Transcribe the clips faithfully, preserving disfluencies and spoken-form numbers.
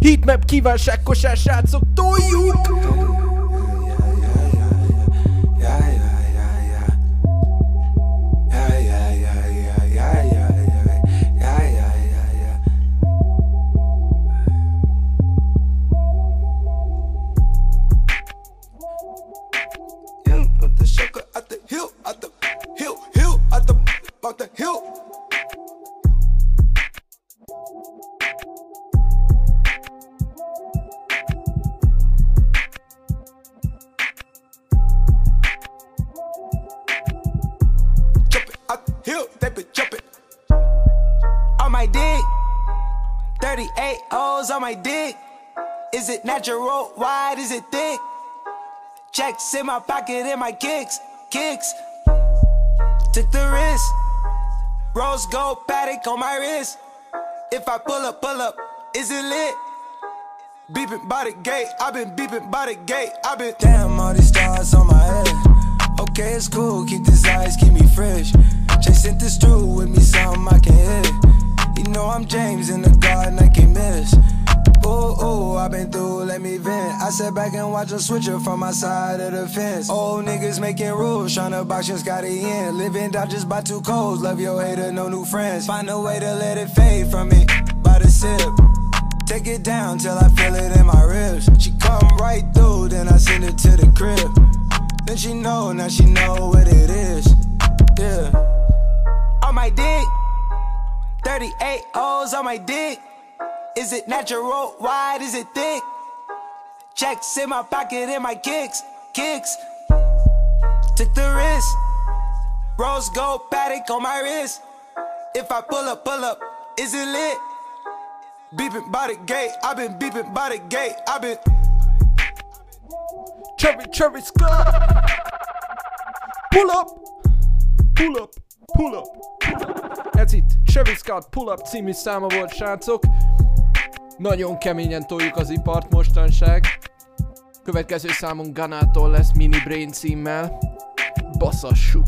Heatmap kívánság kosár, srácok, toljuk! thirty-eight O's on my dick. Is it natural? Wide? Is it thick? Checks in my pocket and my kicks, kicks. Took the risk. Rose gold paddock on my wrist. If I pull up, pull up, is it lit? Beeping by the gate, I've been beeping by the gate, I've been. Damn, all these stars on my head. Okay, it's cool, keep these eyes, keep me fresh. Chasing this through with me, something I can hit. You know I'm James in the garden, I can't miss. Ooh, ooh, I've been through, let me vent. I sat back and watch them switch up from my side of the fence. Old niggas making rules, tryna box your Scotty in. Living Dodgers by two codes, love your hater, no new friends. Find a way to let it fade from me, by the sip. Take it down till I feel it in my ribs. She come right through, then I send it to the crib. Then she know, now she know what it is. Yeah. On my dick, thirty-eight O's on my dick. Is it natural? Wide? Is it thick? Checks in my pocket and my kicks, kicks. Took the risk. Rose gold paddock on my wrist. If I pull up, pull up, is it lit? Beeping by the gate, I've been beeping by the gate, I've been. Cherry, cherry, Scott. Pull up, pull up, pull up. Ez itt Cherry Scott Pull Up című száma volt, srácok. Nagyon keményen toljuk az ipart mostanság. Következő számunk Ganától lesz Mini Brain címmel. Baszassuk!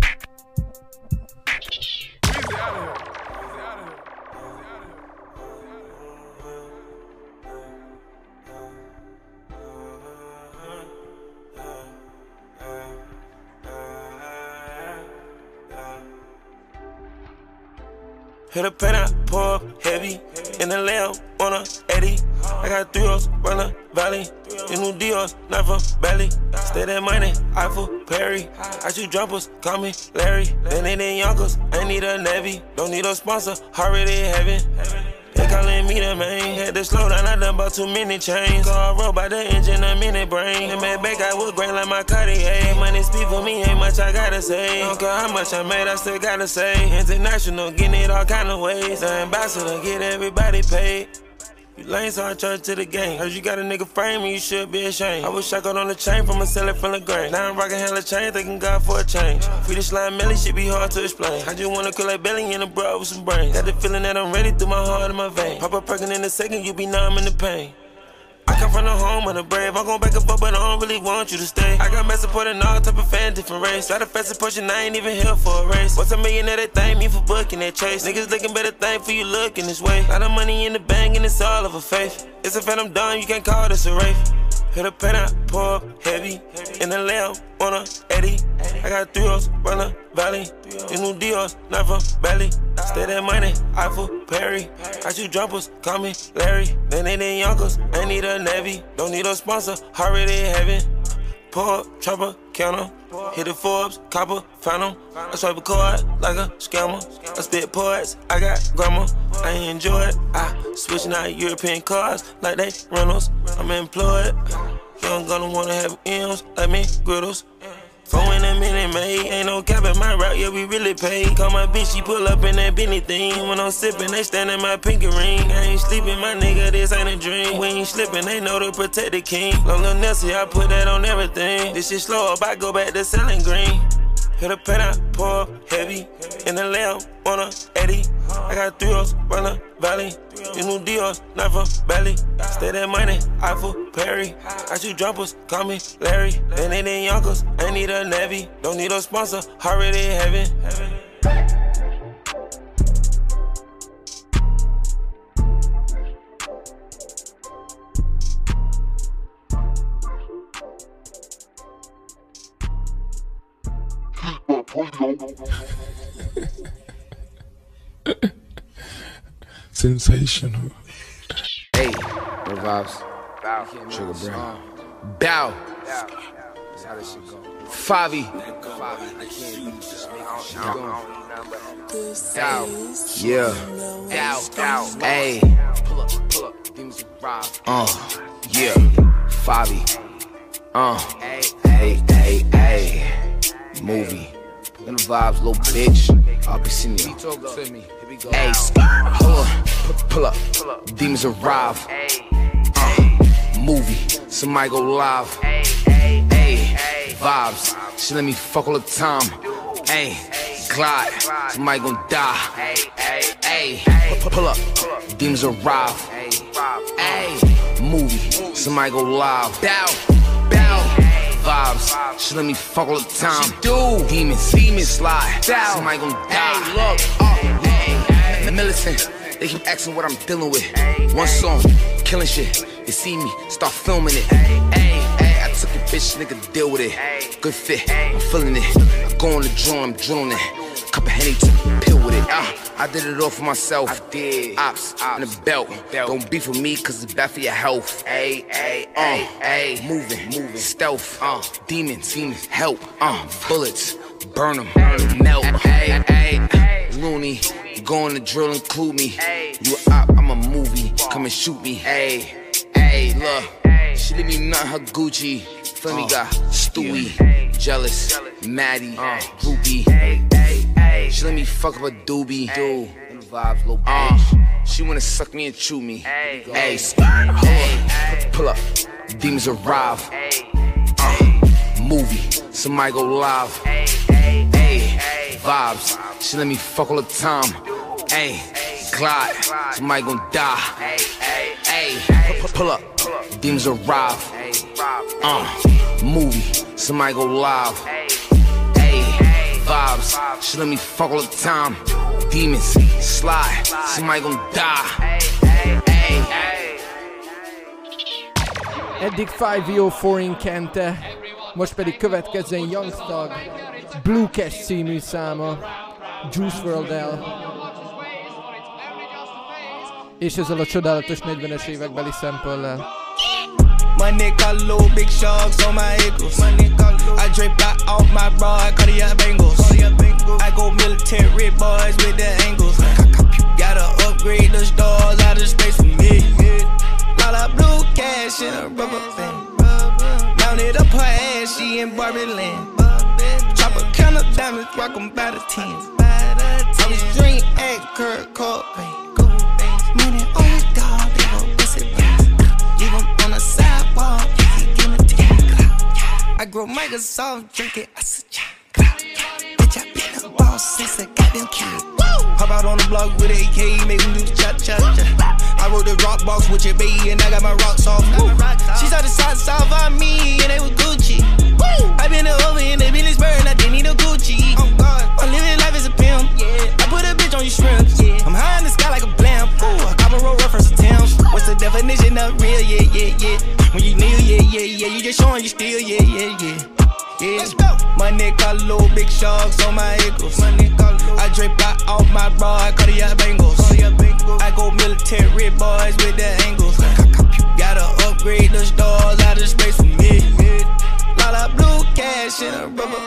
Hit a pen out, pour up heavy. In the lamb on a eighty. I got three O's, run the valley. These new Dior's, not from Belly. Stay that money, Eiffel, Perry. I shoot jumpers, call me Larry. Then they in Yonkers, I need a Navy. Don't need a sponsor, already in heaven. They calling me the man. Had to slow down, I done bought too many chains. Car roll by the engine, I'm in the brain. And man, back I would grain like my Cartier. Money speak for me, ain't much I gotta say. Don't care how much I made, I still gotta say. International, getting it all kind of ways. The ambassador, get everybody paid. You lanes on church to the game. Heard you got a nigga frame and you should be ashamed. I was shackled on the chain from a seller from the grain. Now I'm rocking hella chain, thanking God for a change. Free the slime melly, shit be hard to explain. I just wanna kill like belly in a bra with some brains. Got the feeling that I'm ready through my heart and my vein. Pop a perkin' in a second, you be numb in the pain. I come from the home of the brave. I'm gon' back and forth, but I don't really want you to stay. I got mad supporting all type of fan, different race. Got a fast pushing, I ain't even here for a race. What's a million of that thing mean for booking that chase? Niggas looking better thing for you looking this way. Lot of money in the bank and it's all of a faith. It's a phantom done, you can't call this a race. Hit a pen out, pour up heavy. In the lamb on a eighty. I got three O's, run the valley. These new Dior's, not from Belly. Stay that money, Eiffel, Perry. I shoot jumpers, call me Larry. Then they in Yonkers, I need a Navy. Don't need a sponsor, already in heaven. Pour up, chopper, counter. Hit the Forbes, copper, found 'em. I swipe a card like a scammer. I spit poets, I got grammar. I enjoy it. I switching out European cars like they Reynolds. I'm employed. Young gonna wanna have M's like me, griddles. Four in a minute, mate. Ain't no cap in my route, yeah, we really paid. Call my bitch, she pull up in that Benny thing. When I'm sipping, they stand in my pinky ring. I ain't sleeping, my nigga, this ain't a dream. We ain't slipping, they know to protect the king. Long Lil Nessie, I put that on everything. This shit slow up, I go back to selling green. Hit a pen out, pour up heavy. In the lamb on a eighty. I got three O's, run the valley. These new Dior's, not from Belly. Stay that money, Eiffel, Perry. I shoot jumpers, call me Larry. Then they in Yonkers, I need a Navy. Don't need a sponsor, already in heaven. Sensational. Hey, no vibes. Bow. Sugar Brown. Bow. That's how this shit go. Favi. Favi. I can't use this. Dow. Yeah. Dow. Dow. Hey. Pull up. Pull up. Things arrive. Uh. Yeah. Favi. Uh. Hey. Hey. Hey. Hey. Movie. Them vibes, little bitch. I'll be seeing you. Talk to me. Hey, hold on, pull up, demons arrive. Uh, movie, somebody go live. Hey, vibes, she let me fuck all the time. Hey, glide, somebody gon' die. Hey, pull up, demons arrive. Hey, movie, somebody go live. Bow, bow. Vibes, she let me fuck all the time. She do. Demons, demons slide. Down. Somebody gon' die. Hey, look, oh, hey, militant. They keep asking what I'm dealing with. One song, killing shit. They see me, start filming it. Hey, hey, I took a bitch, nigga, deal with it. Good fit, I'm feeling it. I go on the drill, I'm drilling it. Cup of Henny, took a pill with it. Uh, I did it all for myself. I did. Ops, Ops. And a belt. belt. Don't beef with me, cause it's bad for your health. Ay, ay, uh, ay, moving, moving. Stealth, uh, demons, demons, help, uh, bullets, burn them, melt. Ay, ay, ay, loony, go on the drill, include me. You a op, I'm a movie, come and shoot me. Ay, ay, look, she leave me nothing her Gucci. Feel me, got Stewie, jealous, Maddie, uh, groupie. She let me fuck up a doobie, dude. Them vibes, little bitch. Uh, she wanna suck me and chew me. Hey, hey, pull up, demons arrive. Uh, movie, somebody go live. Hey, vibes, she let me fuck all the time. Hey, glide, somebody gon' die. Hey, pull up, demons arrive. Uh, movie, somebody go live. Vibes, she let me fuck all the time. Demons, slide, somebody gon' die. Eddig five oh four-in kente, most pedig következzen Young Thug, Blue Cash című száma, Juice world-el. És ezzel a csodálatos negyvenes évekbeli sample-lel. My neck got low, big sharks on my ankles. I drape out off my broad, cardiac bangles. I go military boys with the angles. Gotta upgrade the stars out of space for me. Lot of blue cash in a rubber band. Mounted up her ass, she in Barbie land. Chop a count of diamonds, rock them by the tens. I was drink at Kurt Cobain. Money on his dog, they go pussy bands. Leave him on the sidewalk, he give me ten. I grow Microsoft, drink it, I said, bitch, I been a boss since a goddamn kid. Hop out on the block with A K, make him do the cha-cha-cha. I wrote the rock box with your baby and I got my rocks off. She saw the socks off on me and they was Gucci. I been over in the business burn, I didn't need a Gucci. Oh God, I'm living life as a pimp. Yeah, I put a bitch on your shrimps. Yeah, I'm high in the sky like a blimp. Ooh, I cop a roll reference attempts. What's the definition of real? Yeah, yeah, yeah. When you kneel, yeah, yeah, yeah. You just showing you still, yeah, yeah, yeah. Yeah. Let's go. My neck got low, big sharks on my ankles. My neck got low. I drape out off my broad, cardiac bangles. I go military boys with the angles. Gotta upgrade the stars out of space for me. Lot of blue cash in a rubber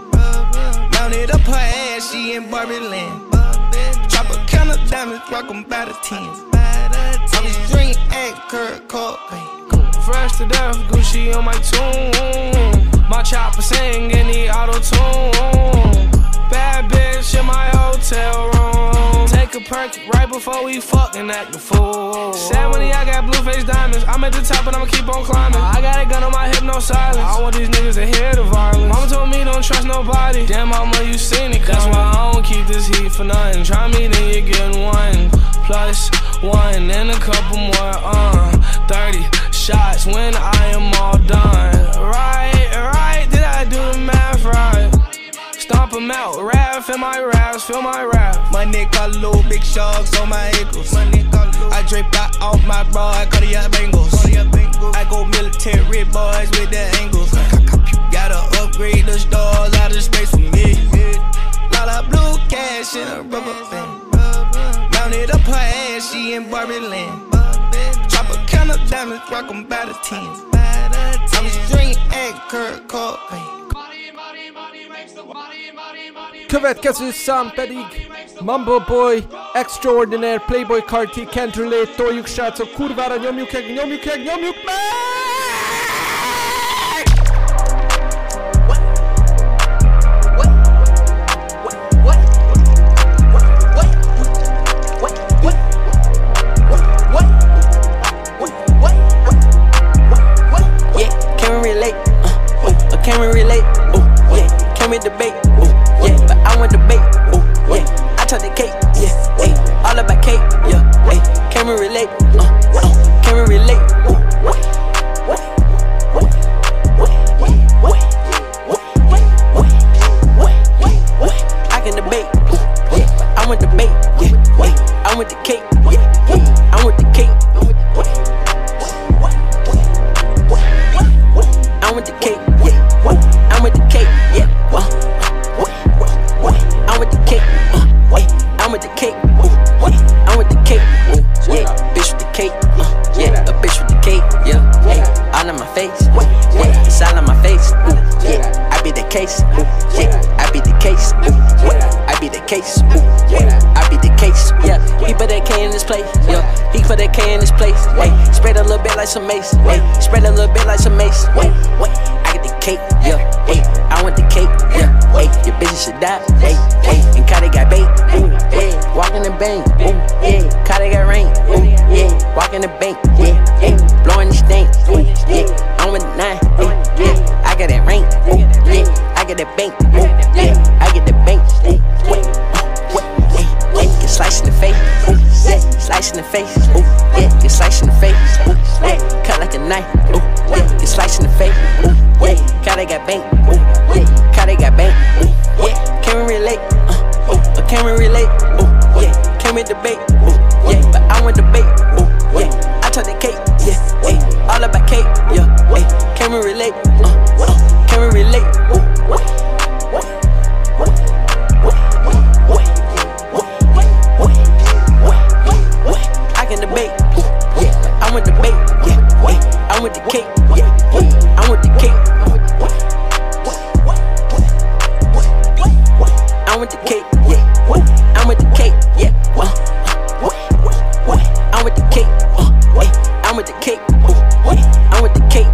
band. Mounted up her ass, she in Barbie land. Chop a count of diamonds, rock them by the tens. I was drink at Kurt Cobain. Fresh to death, Gucci on my tune. My chopper sing in the auto-tune. Bad bitch in my hotel room. Take a perk right before we fucking act the fool. Sad money, I got blue face diamonds. I'm at the top and I'ma keep on climbing. I got a gun on my hip, no silence. I want these niggas to hear the violence. Mama told me don't trust nobody. Damn mama, you seen it coming. That's why I don't keep this heat for nothing. Try me, then you're getting one. Plus one and a couple more, uh thirty shots when I am all done. Right, right, did I do the math right? Stomp 'em out, rap, feel my raps, feel my rap. My neck got low, big sharks on my ankles. I drape out off my broad, cardiac bangles. I go military boys with the angles. Gotta upgrade the stars out of space for me. cash in a rubber band. Mounted up her ass, she in Barbie land. Drop a count of diamonds, rock them by the tens. I was drinking egg, Kurt Cobain. Következő szám pedig Mumble Boy, Extraordinaire, Playboy Carti, Can't Relate, toljuk srácok, kurvára nyomjuk meg, nyomjuk meg, nyomjuk meg! Can we relate? Ooh, yeah. Can we debate? Ooh, yeah. But I want debate. Ooh, yeah. I took the cake. Yeah. Ay. All about cake. Yeah. Ay. Can we relate? Uh, uh. Can we relate? Ooh, what? What? What? What? What? What? What? I can debate. Ooh, yeah. But I want debate. Yeah. Ay. I want the cake. Yeah. Ay. I want the cake. I want the cake. I'm with the cake, yeah. Uh, I'm with the cake, uh, I'm with the cake, uh, I'm with the cake, uh, yeah. Bitch with the cake, uh, yeah. A bitch with the cake, yeah. Hey, all in my face, yeah. It's all in my face, uh, yeah. I be the case, uh, yeah. I be the case, uh, yeah. I be the case, uh, yeah. I be the case, yeah. He put that K in this place, yeah. He put that K in this place, hey. Spread a little bit like some mace, hey. Spread a little bit like some mace, wait, wait. I get the cake, yeah, hey, I want the cake, yeah, hey, your bitches should die, hey, hey, and Kata got bait, ooh, yeah, walking the bank, ooh, yeah, Kata got rain, ooh, yeah, walking the bank, yeah, hey, blowing the stank, ooh, yeah, I'm with the nine, ooh, yeah, I got that rain, ooh, yeah, I get that bank, ooh, yeah, I get the bank, ooh, wait, what, hey, hey, get sliced in the face, ooh, yeah, slice in the face, ooh, yeah, get sliced in the face, ooh, yeah, cut like a knife, ooh, yeah, get sliced in the face, ooh, yeah, Kata got bank, ooh, yeah, Kata got bank, ooh, yeah, can we relate, uh, ooh, or can we relate, ooh, yeah, can we debate, ooh, yeah, but I want debate, ooh, yeah, I took the cake, yeah, hey, all about cake, yeah, hey, can we relate, uh, uh, can we relate, ooh, what, what, what, what, what, what, what, what, I can debate, ooh, yeah, but I want debate, yeah, hey, I want the cake, yeah, I want the cake. I want the cake, yeah. I'm with the cake, yeah. Uh, I'm with the cake, uh, I'm with the cake, uh, I'm with the cake.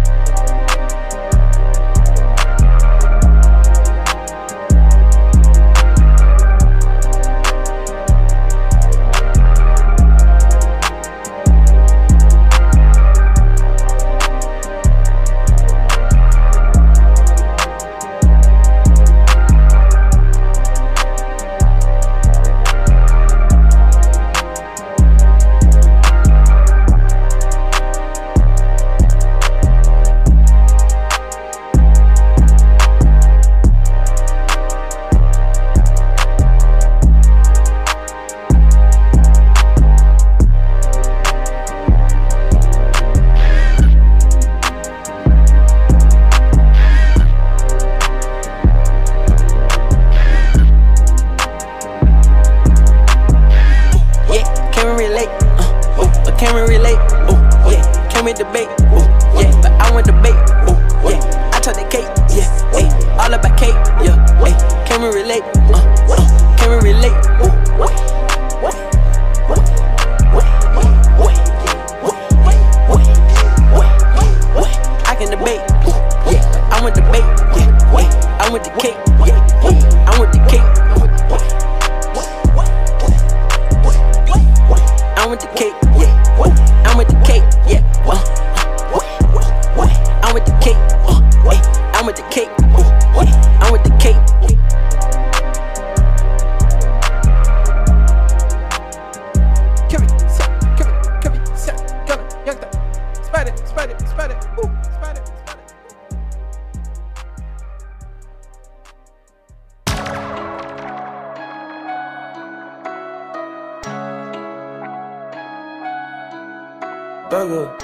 Thugger.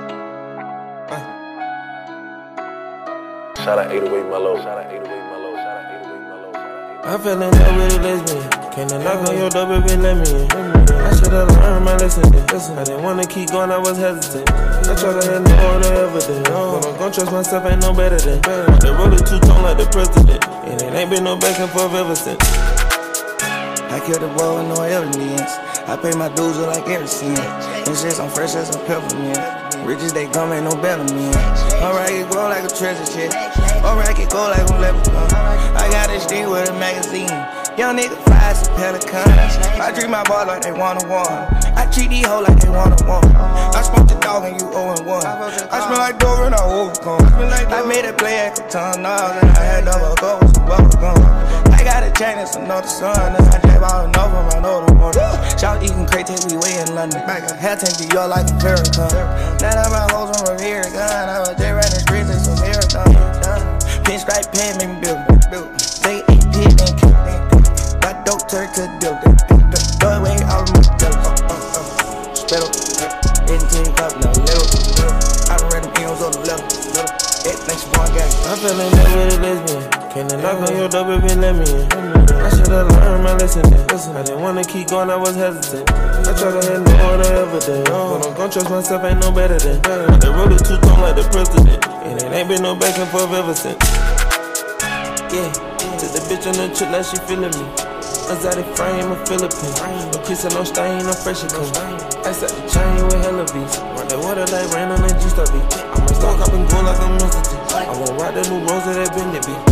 Uh. Shout out eight oh eight Mellow. Shout out eight oh eight Mellow. Shout out eight oh eight Mellow. Shout out eight oh eight Mellow. I fell in love with a lesbian. Came to knock on your door, baby, let me in. I should've learned my lesson then. I didn't wanna keep going, I was hesitant. I tried to have no order evidence. But I'm gon' trust myself, ain't no better than. The roller two-tone like the president. And it ain't been no back and forth ever since. I killed the boy with no evidence. I pay my dues with like every cent. And shit, I'm fresh as a peppermint. Riches they come, ain't no better man. Alright, it grow like a treasure chest. Alright, it go like a leprechaun. I got a stick with a magazine. Young nigga fly some pelicans. I treat my ball like they one-on-one. I treat these hoes like they one-on-one. I smoke the dog and you oh and one. I smell like Dover and I overcome. I made a play at the ton dollars and I had double go with some bubble gum. I got a chain and some another sun. And I gave all enough of my other one. Shout eating crate till we way in London. Had to be y'all like a Farrakhan. Now that my hoes on Rivera gun. I was there running streets and some marathon. Pinstripe pen made me build. They ain't did and kill. Got dope turn to do. Throw away all of my dope. Spit up. eighteen cup now little. I done read them M's on the level. It makes one gang. I fell in love with a lesbian. Came to knock on your door, baby, let me in. I should've learned my lesson then. I didn't wanna keep going, I was hesitant. I tried to have no order evidence. But I'm gon' trust myself, ain't no better than. The roller two-tone like the president. And it ain't been no back and forth ever since. Yeah, took the bitch on the trip, now she feeling me. Exotic frame, a Philippine. No kiss and no stain, no fresh clean. I set the chain with hella beats. Run that water like rain on that juice I be. I might start copping gold like a mustard. I won't ride the new rose of that Bennett beat.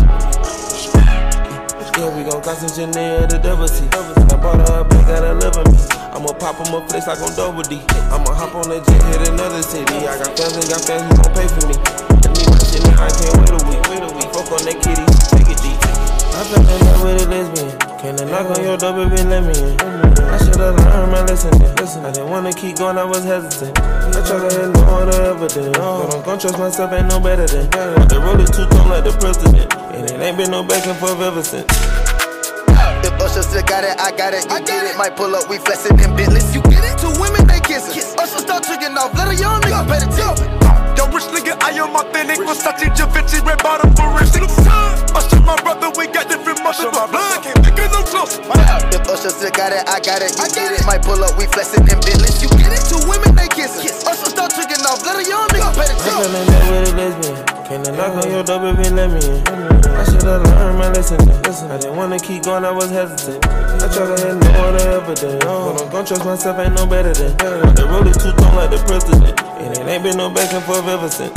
Yeah, we gon' got some Chanel, the double T. I bought her a bag, got a love me. I'ma pop on my flex like on double D. I'ma hop on that jet, hit another city. I got fans and got fans who gon' pay for me. I need my shit, I can't wait a week. Wait a week, fuck on that kitty, take it deep. I fell in love with a lesbian. Came to knock on your door, baby, let me in. I should've learned my lesson then. I didn't wanna keep going, I was hesitant. I tried to have no order evidence. But I'm gon' trust myself, ain't no better than. The roller two-tone like the president. And it ain't been no back and forth ever since. If Usher still got it, I got it, you get it. Might pull up, we flexin' in Bentleys, you get it. Two women, they kissin'. Usher start trickin' off, let a young nigga better tell. Yo, rich nigga, I am authentic. Versace, Givenchy, red bottom for rich. Usher, my brother, we got different muscles. My blood can't pick it no close. If Usher still got it, I got it, you get it. Might pull up, we flexin' in Bentleys, you get it. Two women, they kissin'. Usher start trickin' off, let a young nigga better tell. I fell in love with a lesbian. Came to knock on your door, baby, let me in. I should've learned my lesson then. I didn't wanna keep going, I was hesitant. I tried to have no order evidence. But I'm gon' trust myself, ain't no better than. The roller two-tone like the president. And it ain't been no back and forth ever since.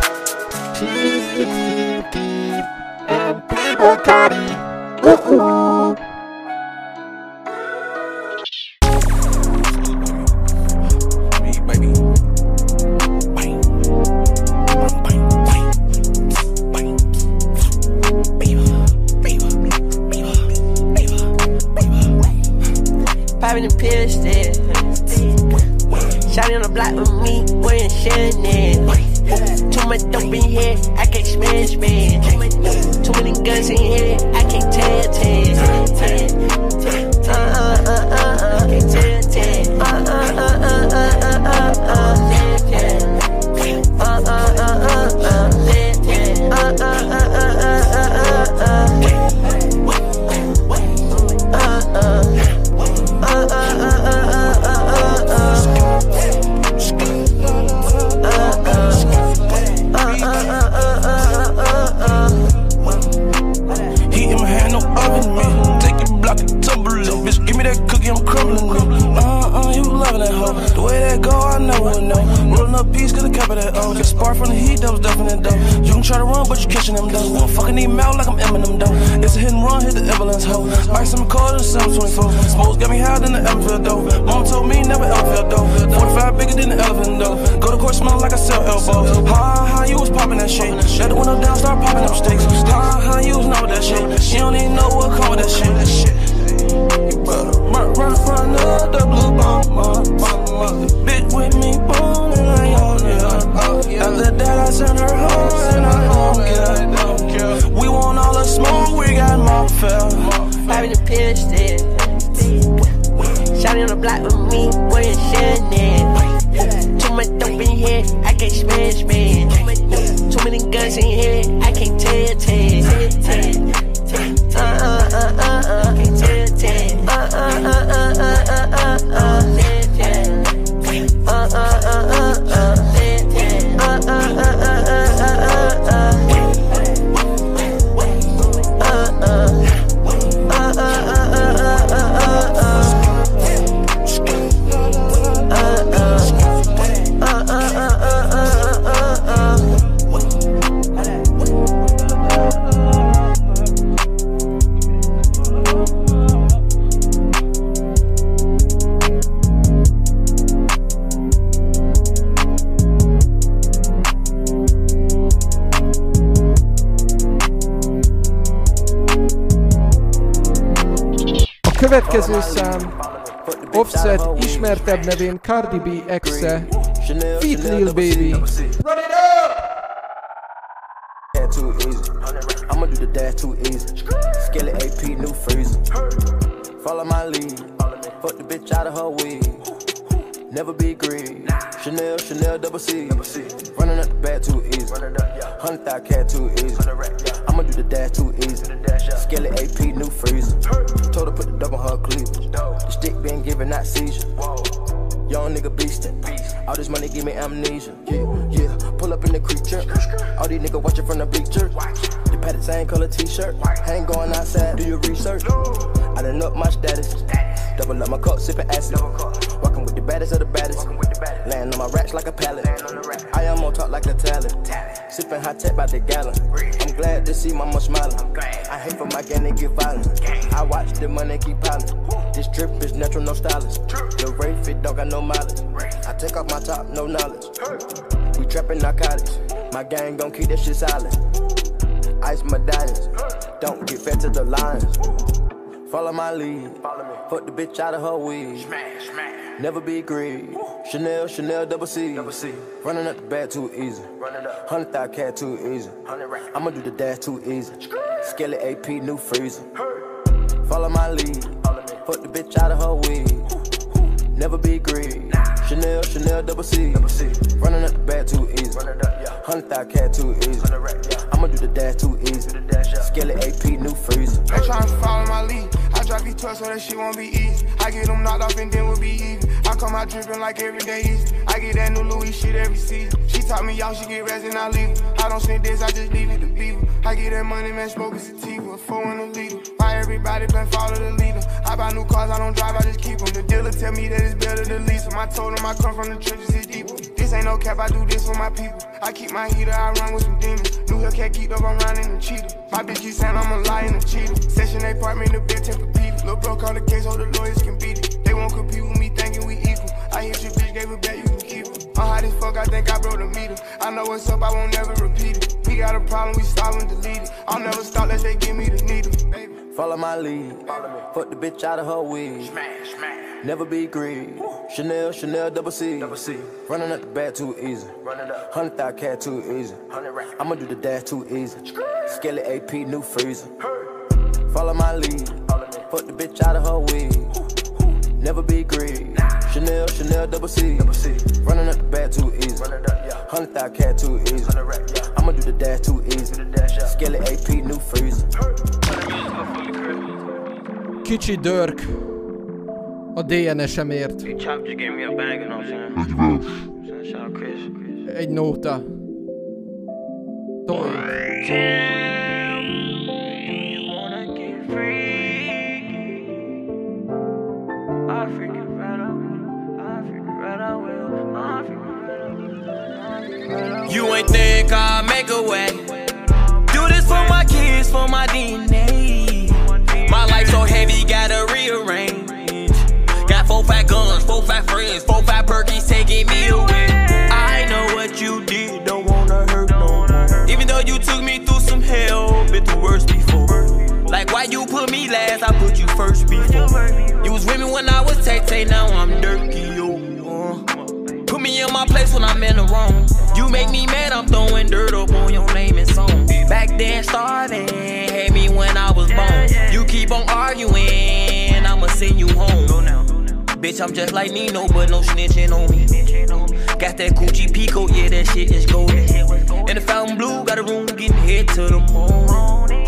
Popping the pill still. Shawty on the block with me, wearing Chanel. Too much dope in here, I can't smash, man. Too many guns in here, I can't tell, tell. Uh uh uh uh uh, can't tell, tell. Uh uh uh uh uh uh uh uh. Uh uh uh uh uh. Uh uh uh uh uh uh. Uh uh. Heat in my hand, no oven, man. Take it, block it, tumble it. Bitch, give me that cookie, I'm crumbling it. Uh uh, you loving that hoe. The way that go, I never would know. Rolling up peace, cause the cap of that O. Get spark from the heat, that was definite though. You can try to run, but you catching them though. I'm fucking need mouth like I'm Eminem though. It's a hit and run, hit the ambulance hoe. Buy some cold in seven twenty-four. Smokes got me higher than the elephant though. Mom told me never ever felt though. forty-five bigger than the elephant though. Go to court smelling like I sell elbows. Ha ha, you was popping that shit. Let the window down, start popping up sticks. Ha ha, you was know that shit. You don't even know what come with that shit. You better run, run, run up the blue bomber. Bitch with me, boom, and I own it. After that, I send her home, and I don't care. We want all the smoke, we got more fell. Popping the pill still. Shawty on the block with me, wearing Chanel. Too much dope in here, I can't smash, man. Too many guns in here, I can't tell, tell. Uh uh uh uh. uh, ten, ten. Uh, uh, uh, uh, uh, uh, uh, ten, ten. Uh, uh, uh, uh, uh, ten, ten. Uh, uh, uh, uh, uh, uh, uh. Következő szám Offset ismertebb nevén Cardi B exe Feat Lil Baby. Run it up! Too easy. I'ma do the dash too easy. Skillet A P, new freezer. Follow my lead. Fuck the bitch out of her wig. Never be greedy. Chanel, Chanel, double C. Running up the bag too easy. Hundred thousand cat too easy. I'ma do the dash too easy. Skillet A P, new freezer. Told her put the double on her cleavage. The stick been giving out seizure. Young nigga beastin'. All this money give me amnesia. Yeah, yeah. Pull up in the creature. All these niggas watching from the bleacher. The padded same color t-shirt. I ain't going outside, do your research. I done up my status. Double up my cup, sippin' acid. Walking with the baddest of the baddest. Laying on my racks like a pallet. I am on top like a talent. Sippin' hot tech by the gallon. I'm glad to see mama smiling. I hate for my gang to get violent. I watch the money keep piling. This drip is natural, no stylist. The rate fit don't got no mileage. I take off my top, no knowledge. We trapping narcotics. My gang gon' keep that shit silent. Ice medallions. Don't get fed to the lions. Follow my lead. Fuck the bitch out of her wig. Never be greedy. Chanel, Chanel, double C. Running up the bag too easy. Hundred thousand cat too easy. I'ma do the dash too easy. Skillet A P, new freezer. Follow my lead. Fuck the bitch out of her wig. Never be greedy. Chanel, Chanel, double C. Running up the bag too easy. Hundred thousand cat too easy. I'ma do the dash too easy. Skillet A P, new freezer. They tryna follow my lead. I drop these trucks so that shit won't be easy. I get them knocked off and then we'll be even. I come out dripping like every day easy. I get that new Louis shit every season. She taught me y'all, she get rest and I leave her. I don't send this, I just leave it to people. I get that money, man, smoking sativa. Four in a liter. Why everybody been follow the leader? I buy new cars, I don't drive, I just keep them. The dealer tell me that it's better to lease them. I told him I come from the trenches, it's deeper. This ain't no cap, I do this for my people. I keep my heater, I run with some demons. New Hellcat keep up, I'm running the cheetah. My bitch keep saying I'm a liar and a cheater. Section eight apartment, the bitch temper Peter. Lil' bro call the case, so the lawyers can beat it. They won't compete with me, thinking we equal. I hit your bitch, gave it back, you can keep it. I'm hot as fuck, I think I broke the meter. I know what's up, I won't never repeat it. We got a problem, we stop and delete it. I'll never stop unless they give me the needle. Baby. Follow my lead. Fuck the bitch out of her wig. Never be greedy. Chanel, Chanel, double C. Running up the bag too easy. Hundred thousand cat too easy. I'ma do the dash too easy. Skillet A P, new freezer. Follow my lead. Fuck the bitch out of her wig. Never be greedy. Chanel, Chanel, double C. Running up the bag too easy. Hundred thousand cat too easy. I'ma do the dash too easy. Skillet A P, new freezer. Kicsi Dörk a D N S-emért. Egy nóta. Toy. You ain't think I'll make a way. Do this for my kids, for my D N A. My life so heavy, gotta rearrange. Got four fat guns, four fat friends, four fat perkies taking me away. I know what you did, don't wanna hurt no more. Even though you took me through some hell, been through worse before. Like why you put me last, I put you first before. You was with me when I was Tay-Tay, now I'm dirty, yo. Uh. Put me in my place when I'm in the wrong. You make me mad, I'm throwing dirt up on your name and song. Back then starving, had me when I was born. You keep on arguing, I'ma send you home. Bitch, I'm just like Nino, but no snitching on me. Got that Gucci Pico, yeah, that shit is golden. And the fountain blue, got a room getting hit to the moon. Put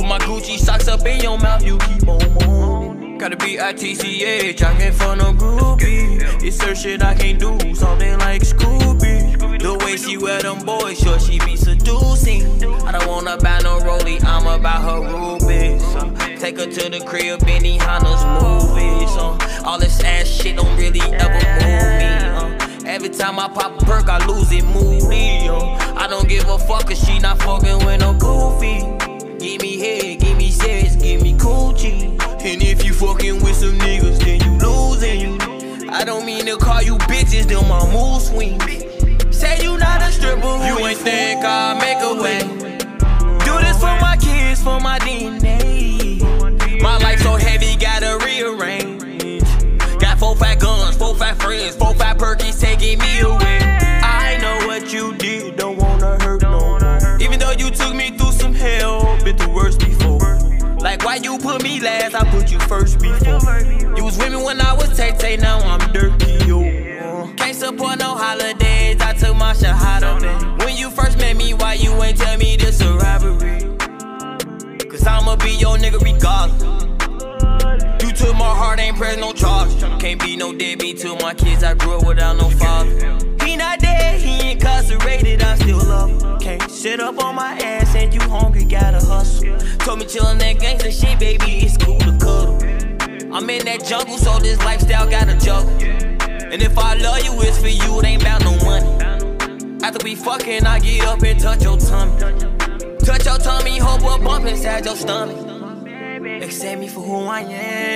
my Gucci socks up in your mouth, you keep on moaning. Gotta be I T C H, I can't find no groupie. It's her shit I can't do, something like Scooby. The way she wear them boys, sure she be seducing. I don't wanna buy no rollie, I'm about her rubies. Uh, take her to the crib, Benny Hanna's movies. Uh, all this ass shit don't really ever move me. Uh, every time I pop a perk, I lose it moody. Uh, I don't give a fuck, cause she not fucking with no goofy. Give me head, give me sex, give me coochie. And if you fucking with some niggas, then you losing. I don't mean to call you bitches, them my mood swings. Say you not a stripper, you ain't think I'll make a way. Do this for my kids, for my D N A. My life so heavy, gotta rearrange. Got four fat guns, four fat friends, four fat perkies taking me away. I know what you did, don't wanna hurt no more. Even though you took me through some hell, been through worse before. Like why you put me last, I put you first before. You was with me when I was Tay-Tay, now I'm dirty, yo. Can't support no holidays, I took my shahada back. When you first met me, why you ain't tell me this a robbery? Cause I'ma be your nigga regardless. You took my heart, ain't press no charge. Can't be no deadbeat to my kids, I grew up without no father. He not dead, he incarcerated, I still love him. Can't sit up on my ass and you hungry, gotta hustle. Told me chillin' that gangsta shit, baby, it's cool to cuddle. I'm in that jungle, so this lifestyle gotta juggle. And if I love you, it's for you, it ain't about no money. After we fucking, I get up and touch your tummy. Touch your tummy, hope a bump inside your stomach. Accept me for who I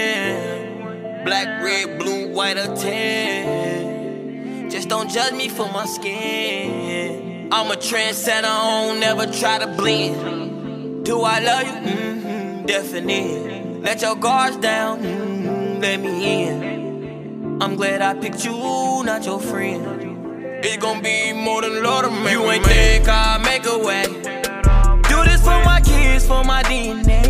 am. Black, red, blue, white, or tan. Just don't judge me for my skin. I'm a trendsetter, I don't never try to blend. Do I love you? Mm-hmm, definitely. Let your guards down, mm-hmm, let me in. I'm glad I picked you, not your friend. It's gonna be more than Lord of man. You ain't think I'll make a way. Do this for my kids, for my D N A.